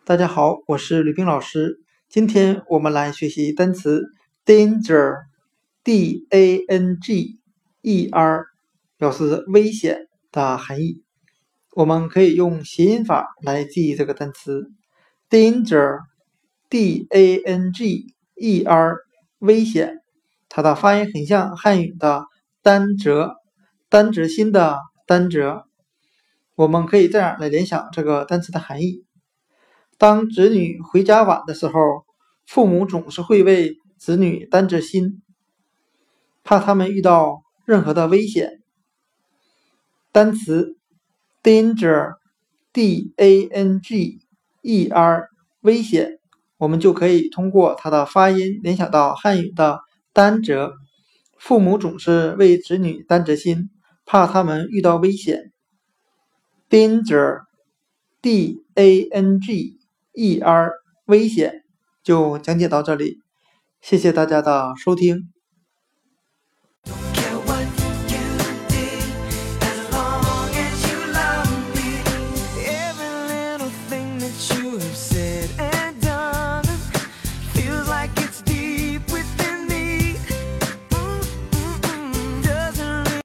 大家好，我是吕冰老师。今天我们来学习单词 danger，D-A-N-G-E-R， 表示危险的含义。我们可以用谐音法来记忆这个单词 danger，D-A-N-G-E-R， 危险。它的发音很像汉语的担责，担责心的担责。我们可以这样来联想这个单词的含义。当子女回家晚的时候，父母总是会为子女担着心，怕他们遇到任何的危险。单词 danger，D-A-N-G-E-R， 危险，我们就可以通过它的发音联想到汉语的担责，父母总是为子女担着心，怕他们遇到危险。danger，D-A-N-G-E-R，危险，就讲解到这里，谢谢大家的收听。